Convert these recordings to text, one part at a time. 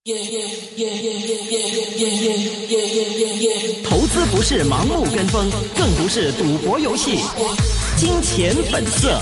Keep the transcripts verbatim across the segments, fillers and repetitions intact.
投资不是盲目跟风，更不是赌博游戏。金钱本色。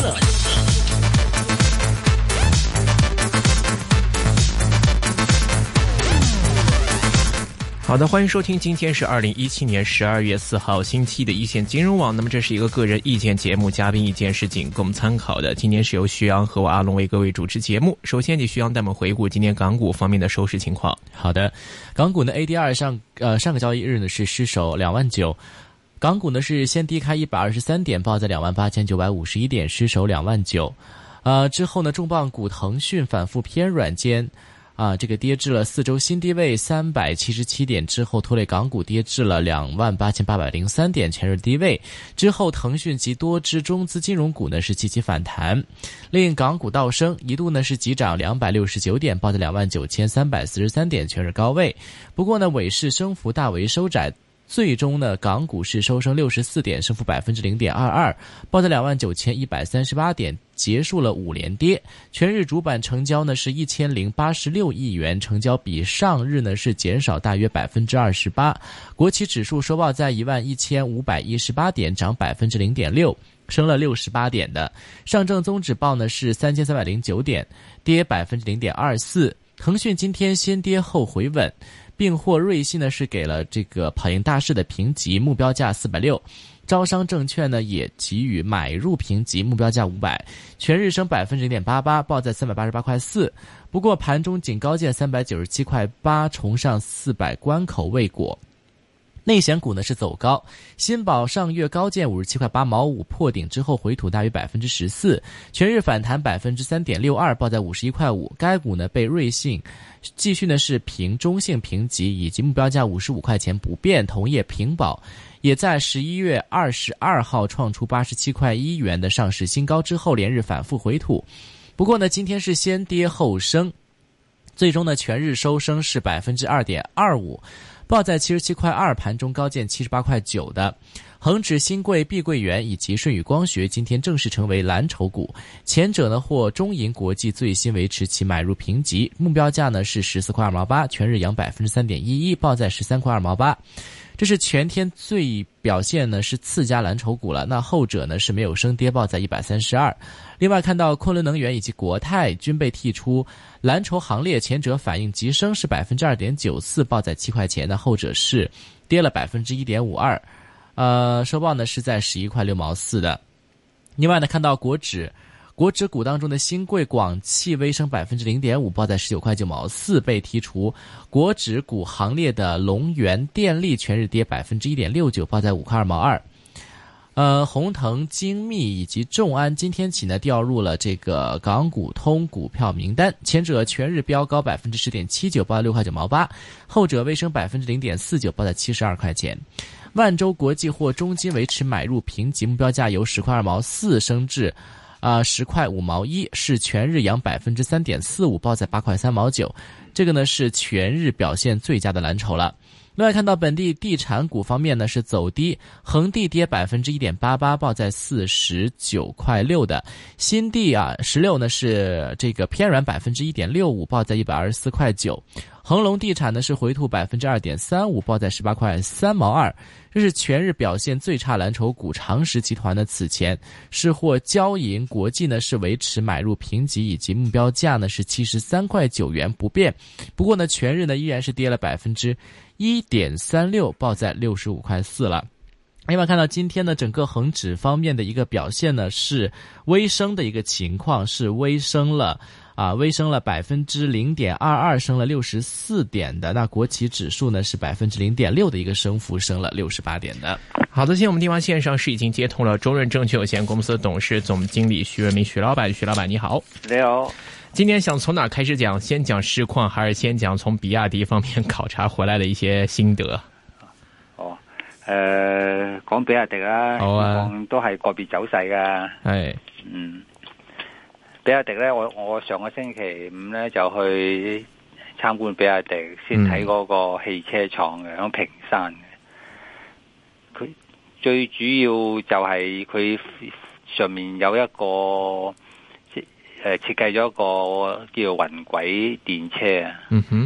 好的，欢迎收听，今天是二零一七年十二月四号星期的一线金融网。那么这是一个个人意见节目，嘉宾意见是仅供参考的。今天是由徐阳和我阿龙为各位主持节目。首先，请徐阳带我们回顾今天港股方面的收市情况。 好的，港股呢 A D R 上呃上个交易日呢是失守两万九，港股呢是先低开一百二十三点，报在两万八千九百五十一点，失守两万九。呃之后呢，重磅股腾讯反复偏软间。啊，这个跌至了四周新低位三百七十七点之后，拖累港股跌至了两万八千八百零三点前日低位。之后，腾讯及多只中资金融股呢是积极反弹，令港股倒升，一度呢是急涨两百六十九点，报在两万九千三百四十三点全日高位。不过呢，尾市升幅大为收窄。最终呢，港股是收升六十四点，升幅百分之零点二二，报在两万九千一百三十八点，结束了五连跌。全日主板成交呢是一千零八十六亿元，成交比上日呢是减少大约百分之二十八。国企指数收报在一万一千五百一十八点，涨百分之零点六。升了六十八点的。上证综指报呢是三千三百零九点，跌百分之零点二四。腾讯今天先跌后回稳，并获瑞信呢是给了这个跑赢大市的评级，目标价四百六。招商证券呢也给予买入评级，目标价五百，全日升百分之零点八八，报在三百八十八块四。不过盘中仅高见三百九十七块八，重上四百关口未果。内险股呢是走高，新保上月高见五十七块八毛五，破顶之后回吐大约百分之十四，全日反弹百分之三点六二，报在五十一块五。该股呢被瑞信继续呢是评中性评级，以及目标价五十五块钱不变。同业平保也在十一月二十二号创出八十七块一元的上市新高之后，连日反复回吐。不过呢，今天是先跌后升，最终呢全日收升是百分之二点二五。报在七十七块二，盘中高见七十八块九的。恒指、新贵、碧桂园以及舜宇光学今天正式成为蓝筹股，前者呢获中银国际最新维持其买入评级，目标价呢是十四块二毛八，全日扬百分之三点一一，报在十三块二毛八。这是全天最表现呢是次佳蓝筹股了，那后者呢是没有升跌，报在一百三十二。另外看到昆仑能源以及国泰均被剔出蓝筹行列，前者反应急升是百分之二点九四，报在七块钱，那后者是跌了百分之一点五二，呃，收报呢是在十一块六毛四的。另外呢看到国指。国指股当中的新贵、广汽微升百分之零点五，报在十九块九毛四，被剔除。国指股行列的龙源电力全日跌百分之一点六九，报在五块二毛二。呃，宏腾、精密以及众安今天起呢调入了这个港股通股票名单，前者全日飙高百分之十点七九，报在六块九毛八，后者微升百分之零点四九，报在七十二块钱。万洲国际或中金维持买入评级，目标价由十块二毛四升至。啊，十块五毛一，是全日扬百分之三点四五，报在八块三毛九。这个呢是全日表现最佳的蓝筹了。另外看到本地地产股方面呢是走低，恒地跌百分之一点八八，报在四十九块六的。新地啊十六呢是这个偏软百分之一点六五，报在一百二十四块九。恒隆地产呢是回吐百分之二点三五，报在十八块三毛二。这是全日表现最差蓝筹股。长实集团呢此前是获交银国际呢是维持买入评级，以及目标价呢是七十三块九元不变。不过呢全日呢依然是跌了百分之一点三六，报在六十五块四了。另外看到今天呢整个恒指方面的一个表现呢是微升的一个情况，是微升了啊，微升了百分之零点二二，升了六十四点的。那国企指数呢是百分之零点六的一个升幅，升了六十八点的。 好的，现在我们电话线上是已经接通了中润证券有限公司董事总经理徐润民徐老板。徐老板你好。 你好。 今天想从哪开始讲？先讲市况，还是先讲从比亚迪方面考察回来的一些心得？ 哦，誒、呃，講比亞迪啦， 好啊， 都係個別走勢噶。 係， 嗯，比亞迪咧，我我上個星期五咧就去參觀比亞迪，先睇嗰個汽車廠嘅，響屏山嘅。佢最主要就係佢上面有一個。誒設計咗一個叫做雲軌電車啊， 嗯哼，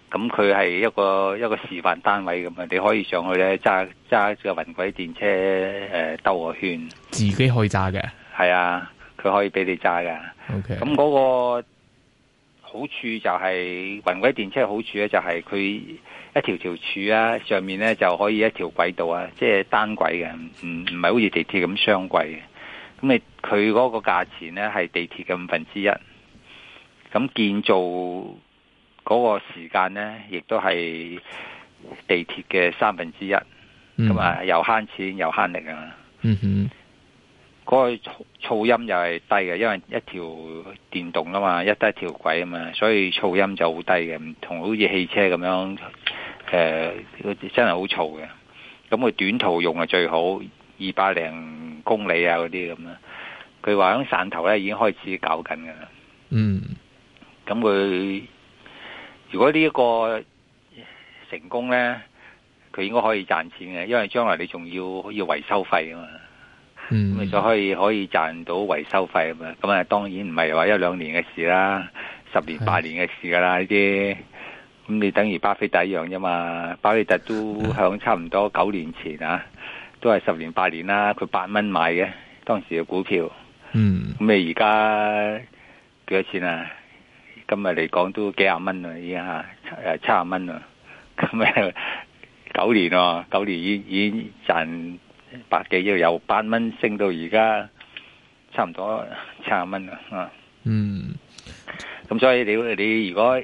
咁佢係一個一個示範單位咁啊，你可以上去咧揸揸個雲軌電車誒兜個圈， 自己可以揸嘅。 係啊，佢可以俾你揸噶。 OK， 咁嗰個好處就係雲軌電車好處咧，就係佢一條條柱啊，上面咧就可以一條軌道啊，即係單軌嘅，唔唔係好似地鐵咁雙軌嘅。咁你佢嗰個價錢咧係地鐵嘅五分之一，咁建造嗰個時間咧亦都係地鐵嘅三分之一，咁啊又慳錢又慳力啊。 嗯哼， 嗰個噪音又係低嘅，因為一條電動啊嘛，一得一條軌啊嘛，所以噪音就好低嘅，唔同好似汽車咁樣，誒、呃，真係好嘈嘅。咁佢短途用係最好，二百零公里啊嗰啲咁啊。佢話喺汕頭咧已經開始搞緊噶啦。 嗯， 咁佢如果呢一個成功咧，佢應該可以賺錢嘅，因為將來你仲要要維修費啊嘛。 嗯， 咁你就可以可以賺到維修費啊嘛。咁啊，當然唔係話一兩年嘅事啦，十年八年嘅事噶啦呢啲。咁你等於巴菲特一樣啫嘛。巴菲特都響差唔多九年前啊，都係十年八年啦。佢八蚊買嘅當時嘅股票。 嗯， 咁你而家幾多錢啊？今日嚟講都幾廿蚊啦，已經吓誒七廿蚊啦。咁啊九年喎，九年已已經賺百幾億，由八蚊升到而家差唔多七廿蚊啦。啊， 嗯， 咁所以你你如果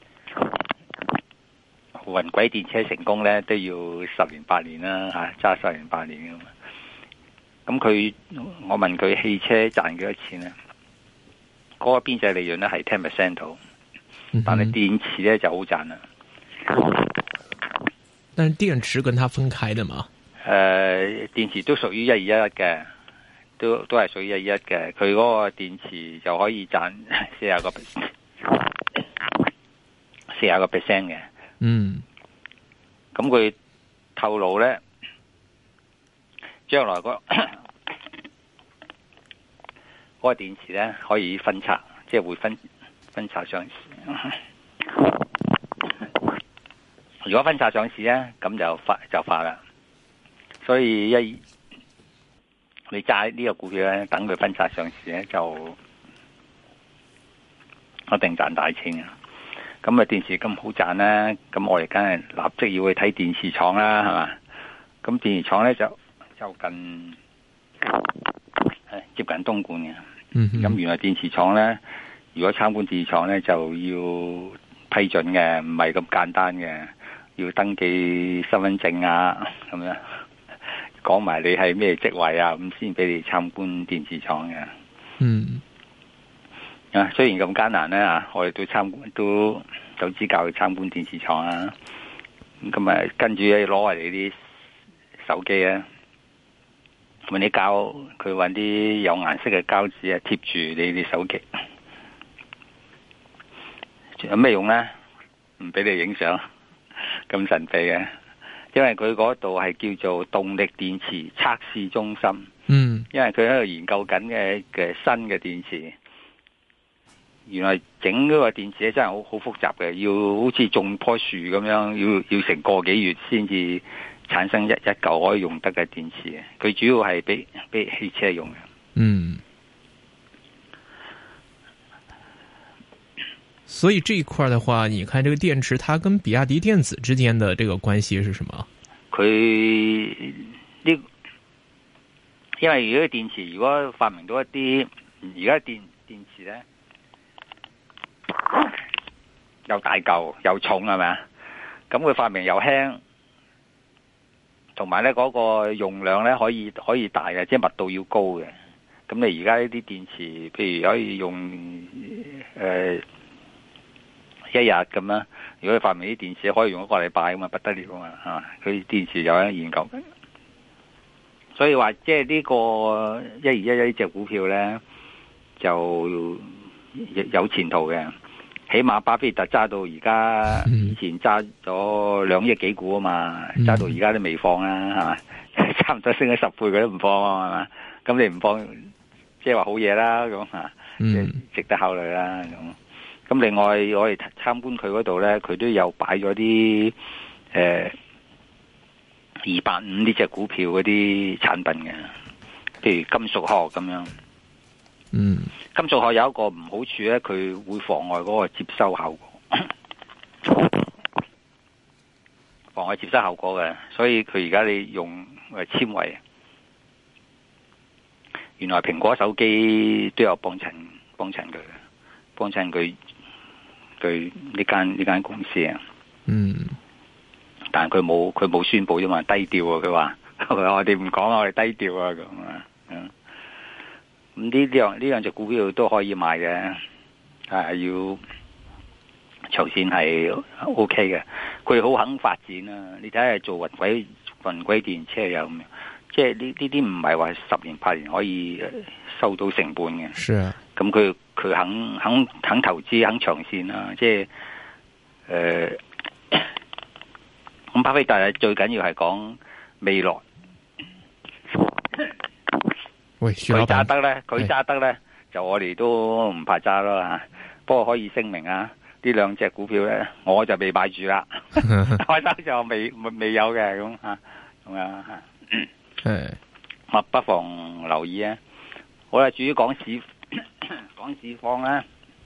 雲軌電車成功咧，都要十年八年啦吓，揸十年八年噶嘛。咁佢我問佢汽車賺幾多錢咧？嗰、那個邊際利潤咧係 ten percent 度，但係電池咧就好賺啦。 但是電池跟它分開的嘛？ 誒、呃，電池都屬於一二一一嘅，都都係屬於一二一嘅。佢嗰個電池就可以賺四十個四十個 percent 嘅。 嗯， 咁佢透露咧，將來嗰、那、嗰個電池咧可以分拆，即係會分分拆上市。如果分拆上市咧，咁就發就發啦。所以一你揸呢個股票咧，等佢分拆上市咧，就一定賺大錢嘅。咁啊，電池咁好賺啦，咁我哋梗係立即要去睇電池廠啦，係嘛？咁電池廠咧就就近接近東莞嘅。 嗯， 咁原來電池廠咧，如果參觀電池廠咧，就要批准嘅，唔係咁簡單嘅，要登記身份證啊，咁樣講埋你係咩職位啊，咁先俾你參觀電池廠嘅。 嗯。 啊，雖然咁艱難咧啊，我哋都參觀都有資格去參觀電池廠啊。咁啊，跟住咧攞嚟你啲手機啊，搵啲膠，佢搵啲有顏色嘅膠紙啊，貼住你啲手機。有咩用咧？唔俾你影相，咁神秘嘅。因為佢嗰度係叫做動力電池測試中心。 嗯， 因為佢喺度研究緊嘅嘅新嘅電池。原來整嗰個電池咧真係好好複雜嘅，要好似種棵樹咁樣，要要成個幾月先至產生一一嚿可以用得嘅電池。佢主要係俾俾汽車用嘅。 嗯。所以這一塊的話，你看這個電池，它跟比亞迪電子之間的這個關係是什麼？ 佢呢？因為如果電池如果發明到一啲而家電電池咧。又大嚿又重係咪啊？咁佢發明又輕，同埋咧嗰個用量咧可以可以大嘅，即係密度要高嘅。咁你而家呢啲電池，譬如可以用誒、呃、一日咁啦。如果佢發明啲電池可以用一個禮拜咁啊，不得了啊嘛，係嘛？佢電池有喺研究緊，所以話即係呢個一二一一呢隻股票咧就有前途嘅。起碼巴菲特揸到而家，以前揸咗兩億幾股啊嘛，揸到而家都未放啦，係嘛？差唔多升咗十倍，佢都唔放啊嘛。咁你唔放，即係話好嘢啦，咁吓，即係值得考慮啦。咁咁另外我哋參觀佢嗰度咧，佢都有擺咗啲誒二百五呢隻股票嗰啲產品嘅，譬如金屬殼咁樣。 嗯， 金屬殼有一個唔好處咧，佢會妨礙嗰個接收效果，妨礙接收效果嘅，所以佢而家你用誒纖維。原來蘋果手機都有幫襯幫襯佢，幫襯佢佢呢間呢間公司啊。 嗯， 但係佢冇佢冇宣布啫嘛，低調啊！佢話佢話我哋唔講，我哋低調啊咁啊。嗯，咁呢呢樣呢兩隻股票都可以買嘅，係要長線係 O K 嘅。佢好肯發展啊！你睇下做雲軌雲軌電車有咁樣。即係呢呢啲唔係話十年八年可以收到成本嘅， 是啊。 咁佢佢肯肯肯投資肯長線啦，即係誒，咁、呃、巴菲特最緊要係講未來。 喂，佢揸得咧，佢揸得咧，就我哋都唔怕揸咯吓。不過可以聲明啊，呢兩隻股票咧，我就未買住啦，我得就未未有嘅咁吓，咁啊吓。 係， 咁不妨留意啊！好啦，至於講市講市況咧，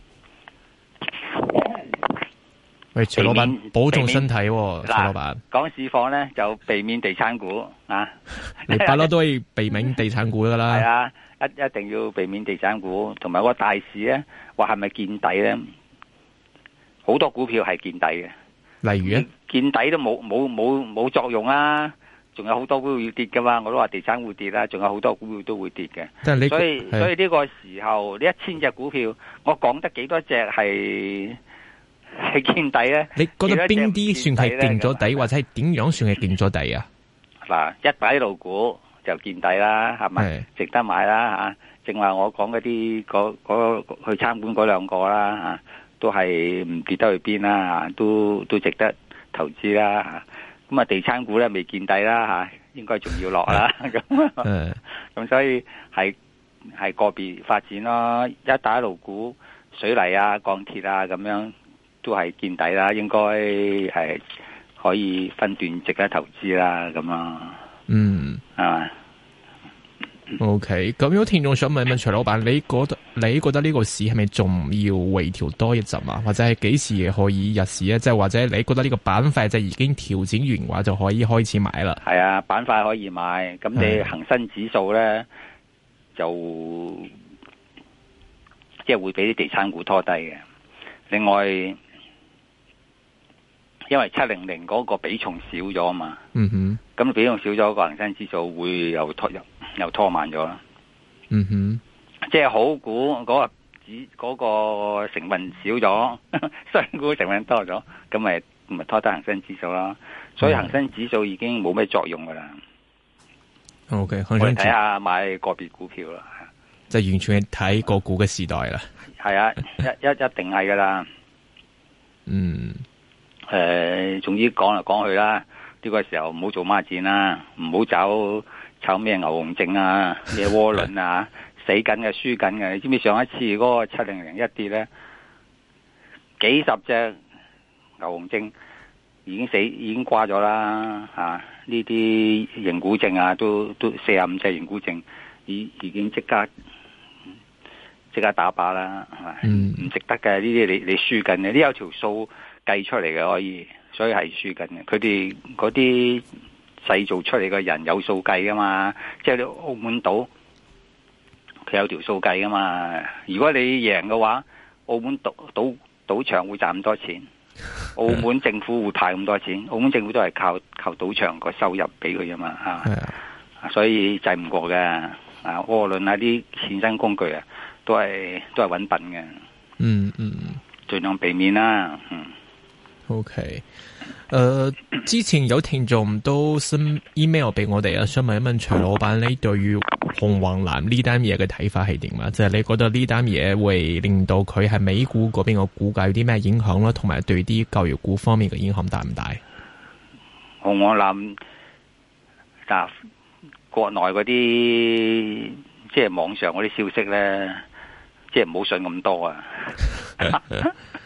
喂，徐老闆保重身體喎，徐老闆。 講市況咧就避免地產股啊！ 你不嬲都係避免地產股噶啦。 係啊，一一定要避免地產股，同埋個大市咧，話係咪見底咧？好多股票係見底嘅， 例如啊， 見底都冇冇冇冇作用啊！仲有好多股票要跌噶嘛，我都話地產會跌啦，仲有好多股票都會跌嘅。 但係你所以所以呢個時候呢一千隻股票，我講得幾多隻係係見底咧？ 你覺得邊啲算係見咗底，或者係點樣算係見咗底啊？ 嗱，一帶一路股就見底啦，係咪？值得買啦吓。正話我講嗰啲嗰嗰去參觀嗰兩個啦吓，都係唔跌得去邊啦吓，都都值得投資啦吓。咁啊，地產股咧未見底啦吓，應該仲要落啦。咁咁所以係係個別發展咯。一帶一路股、水泥啊、鋼鐵啊咁樣都係見底啦，應該係可以分段值得投資啦。咁啊， 嗯， 係嘛？ O K， 咁有聽眾想問問徐老闆，你覺得你覺得呢個市係咪仲要回調多一陣啊？或者係幾時可以入市啊？即係或者你覺得呢個板塊就已經調整完話就可以開始買啦？係啊， 板塊可以買。咁你恒生指數咧就即係會俾啲地產股拖低嘅。另外，因為七零零嗰個比重少咗啊嘛。嗯哼。咁比重少咗，個恒生指數會又拖又又拖慢咗啦。嗯哼，即係好股嗰個指嗰個成分少咗，衰股成分多咗，咁咪咪拖低恒生指數啦。所以恒生指數已經冇咩作用噶啦。O K， 我哋睇下買個別股票啦， 就完全係睇個股嘅時代啦。 係啊，一一一定係噶啦。 嗯， 誒、呃，總之講嚟講去啦。呢個時候唔好做孖展啦，唔好走炒咩牛熊證啊，咩窩輪啊，死緊嘅，輸緊嘅。你知唔知上一次嗰個七零零一跌咧，幾十隻牛熊證已經死，已經掛咗啦吓。呢啲認股證啊，都都四十五隻認股證，已已經即刻即刻打靶啦，係咪？嗯，唔值得嘅呢啲，你你輸緊嘅，呢有條數計出嚟嘅可以。所以係輸緊嘅，佢哋嗰啲製造出嚟嘅人有數計噶嘛，即係你澳門賭佢有條數計噶嘛。如果你贏嘅話，澳門賭賭賭場會賺咁多錢，澳門政府會派咁多錢，澳門政府都係靠靠賭場個收入俾佢啫嘛，吓，所以制唔過嘅。啊，窩輪啊啲衍生工具啊，都係都係揾笨嘅。嗯嗯，盡量避免啦。嗯。 O K，誒，之前有聽眾都 send email 俾我哋啊，想問一問徐老闆，你對於紅黃藍呢單嘢嘅睇法係點啊？即係你覺得呢單嘢會令到佢喺美股嗰邊個股價有啲咩影響啦？同埋對啲教育股方面嘅影響大唔大？ 紅黃藍嗱，國內嗰啲即係網上嗰啲消息咧，即係唔好信咁多啊！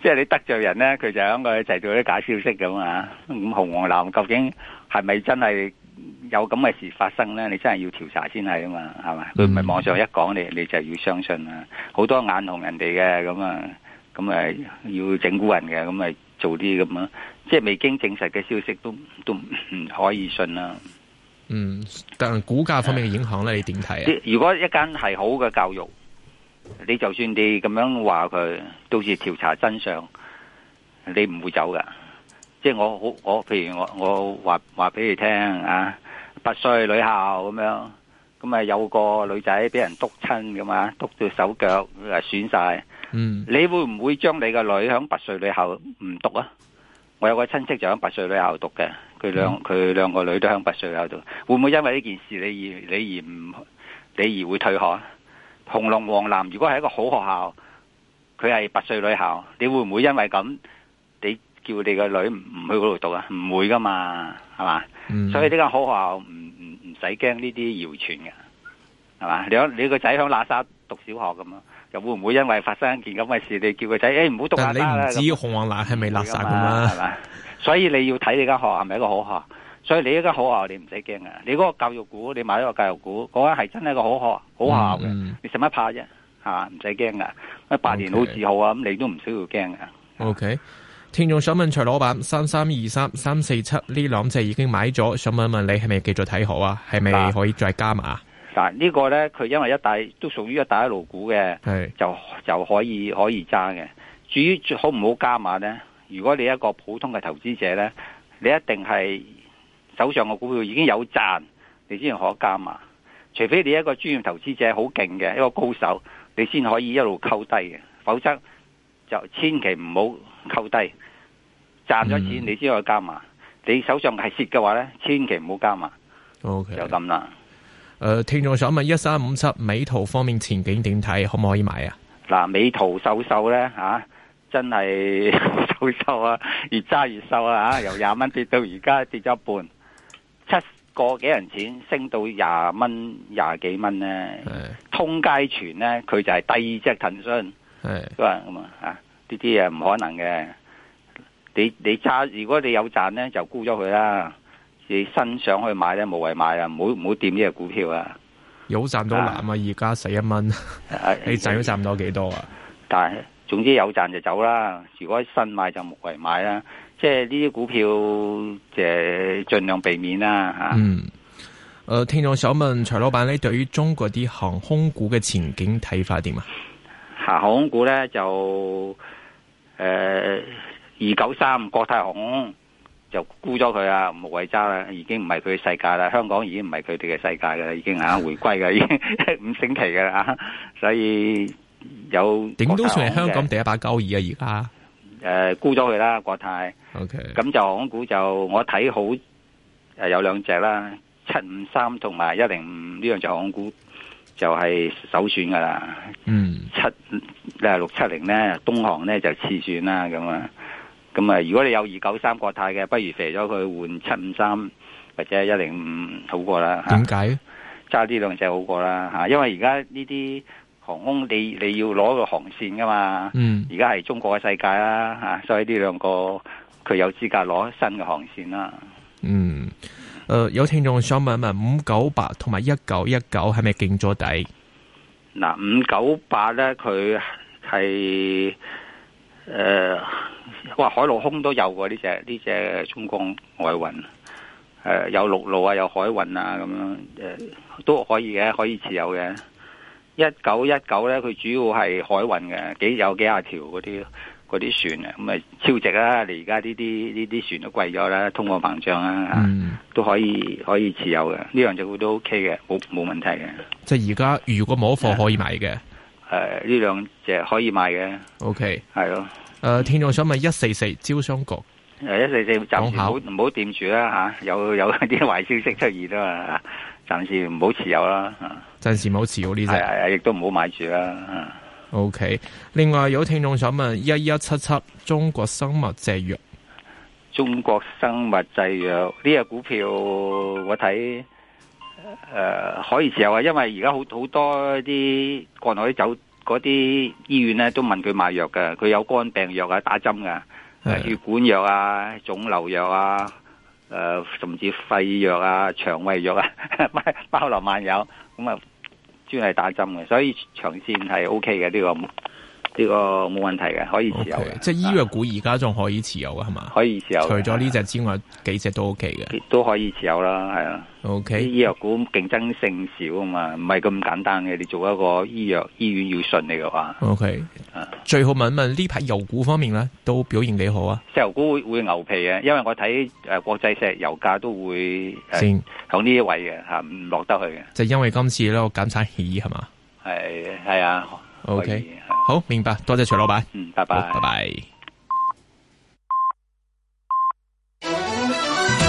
即係你得罪人咧，佢就喺個製造啲假消息咁啊。咁紅黃藍究竟係咪真係有咁嘅事發生咧？你真係要調查先係啊嘛，係嘛？佢唔係網上一講你，你就要相信啊。好多眼紅人哋嘅咁啊，咁誒要整蠱人嘅，咁咪做啲咁啊。即係未經證實嘅消息都都唔可以信啦。 嗯，但係股價方面嘅影響咧，你點睇啊？ 如果一間係好嘅教育，你就算你咁樣話佢，到時調查真相，你唔會走噶。即係我好，我譬如我我話話俾你聽啊，拔萃女校咁樣，咁啊有個女仔俾人督親咁啊，督到手腳誒損晒。嗯，你會唔會將你個女響拔萃女校唔讀啊？我有個親戚就響拔萃女校讀嘅，佢兩佢兩個女都響拔萃女校讀，會唔會因為呢件事你而你而唔你而會退學啊？紅龍黃藍如果係一個好學校，佢係拔萃女校，你會唔會因為咁你叫你個女唔去嗰度讀啊？唔會噶嘛，係嘛？嗯、所以呢間好學校唔唔唔使驚呢啲謠傳嘅，係嘛？你你個仔響喇沙讀小學咁咯。又會唔會因為發生一件咁嘅事，你叫個仔誒唔好讀喇沙啦？但係你唔知紅黃藍係咪垃圾噶嘛？係嘛？ 所以你要睇你間學校係咪一個好學校。所以你呢間好學校你唔使驚啊！你嗰個教育股，你買一個教育股，嗰間係真係一個好學好學校嘅，嗯、你使乜怕啫？係嘛？唔使驚噶，百年好字號啊！咁你都唔需要驚噶。 O K， 聽眾想問徐老闆，三三二三、三四七呢兩隻已經買咗，想問一問你係咪繼續睇好啊？係咪可以再加碼？ 嗱，呢個咧佢因為一帶都屬於一帶一路股嘅，就就可以可以揸嘅。至於好唔好加碼咧？如果你一個普通嘅投資者咧，你一定係手上嘅股票已經有賺，你先可加碼。除非你一個專業投資者好勁嘅一個高手，你先可以一路溝低嘅，否則就千祈唔好溝低。賺咗錢你先可以加碼，嗯、你手上係蝕嘅話咧，千祈唔好加碼。 OK， 就咁啦。 誒、呃，聽眾想問一三五七美圖方面前景點睇，可唔可以買啊？嗱， 美圖秀秀咧吓，真係秀秀啊，越揸越瘦啊吓，由廿蚊跌到而家跌咗一半，七個幾人錢升到廿蚊廿幾蚊咧，通街傳咧佢就係第二隻騰訊，都係咁啊吓，呢啲嘢唔可能嘅。你你揸，如果你有賺咧，就沽咗佢啦。你新上去買咧，無謂買啊！唔好唔好掂呢個股票啊！ 有賺到難啊！而家十一蚊，你賺都賺唔到幾多啊？ 但係總之有賺就走啦。如果新買就無謂買啦。即係呢啲股票，就盡量避免啦吓。嗯。誒、 呃，聽眾想問徐老闆，你對於中國啲航空股嘅前景睇法點啊？ 航空股咧就誒二九三國泰航空。就沽咗佢啊，無謂揸啦，已經唔係佢嘅世界啦。香港已經唔係佢哋嘅世界噶啦，已經啊回歸噶，已經五星期噶啦，所以有點都算係香港第一把交椅啊！而家誒沽咗佢啦，國泰。OK，咁就航空股就我睇好誒有兩隻啦，七五三同埋一零五呢兩隻航空股就係首選噶啦。嗯，七誒六七零咧，東航咧就次選啦咁啊。咁啊！如果你有二九三國泰嘅，不如肥咗佢換七五三或者一零五好過啦。 點解？ 揸呢兩隻好過啦嚇，因為而家呢啲航空你你要攞個航線噶嘛。嗯。而家係中國嘅世界啦嚇，所以呢兩個佢有資格攞新嘅航線啦。嗯。誒、 呃，有聽眾想問一問五九八同埋一九一九係咪勁咗底？ 嗱，五九八咧，佢係誒。哇！海陸空都有喎，呢隻呢隻中國外運，誒、呃、有陸路啊，有海運啊，咁樣誒、呃、都可以嘅，可以持有嘅。一九一九咧，佢主要係海運嘅，幾有幾廿條嗰啲嗰啲船啊，咁啊超值啦！你而家呢啲呢啲船都貴咗啦，通貨膨脹啦，嗯、都可以可以持有嘅。呢樣就都 OK 嘅，冇冇問題嘅。 即係而家如果冇貨可以買嘅， 誒呢兩隻可以買嘅。 OK，係咯。 誒、呃，聽眾想問一四四招商局， 誒一四四暫時唔好唔好掂住啦吓，有有啲壞消息出現啊嘛，暫時唔好持有啦， 暫時唔好持有呢隻， 係係亦都唔好買住啦。 OK，另外有聽眾想問一一七七中國生物製藥， 中國生物製藥呢隻股票我睇誒、呃、可以持有啊，因為而家好好多啲國內啲酒嗰啲醫院咧都問佢買藥嘅，佢有肝病藥啊，打針噶，血管藥啊、腫瘤藥啊、誒、呃、甚至肺藥啊、腸胃藥啊，包羅萬有，咁啊專係打針嘅，所以長線係 O K 嘅呢個。呢個冇問題嘅，可以持有嘅。Okay, 即係醫藥股而家仲可以持有嘅係嘛？ 可以持有。除咗呢隻之外，幾隻都 OK 嘅， 都可以持有啦，係啊。 OK。 醫藥股競爭性少啊嘛，唔係咁簡單嘅。你做一個醫藥醫院要順利嘅話，OK。啊，最好問一問呢排油股方面咧，都表現幾好啊？石油股會會牛皮嘅，因為我睇誒國際石油價都會先響呢一位嘅吓，唔落得去嘅。就因為今次咧個減產協議係嘛？係係啊。OK，好明白，多謝徐老闆。嗯，拜拜，拜拜。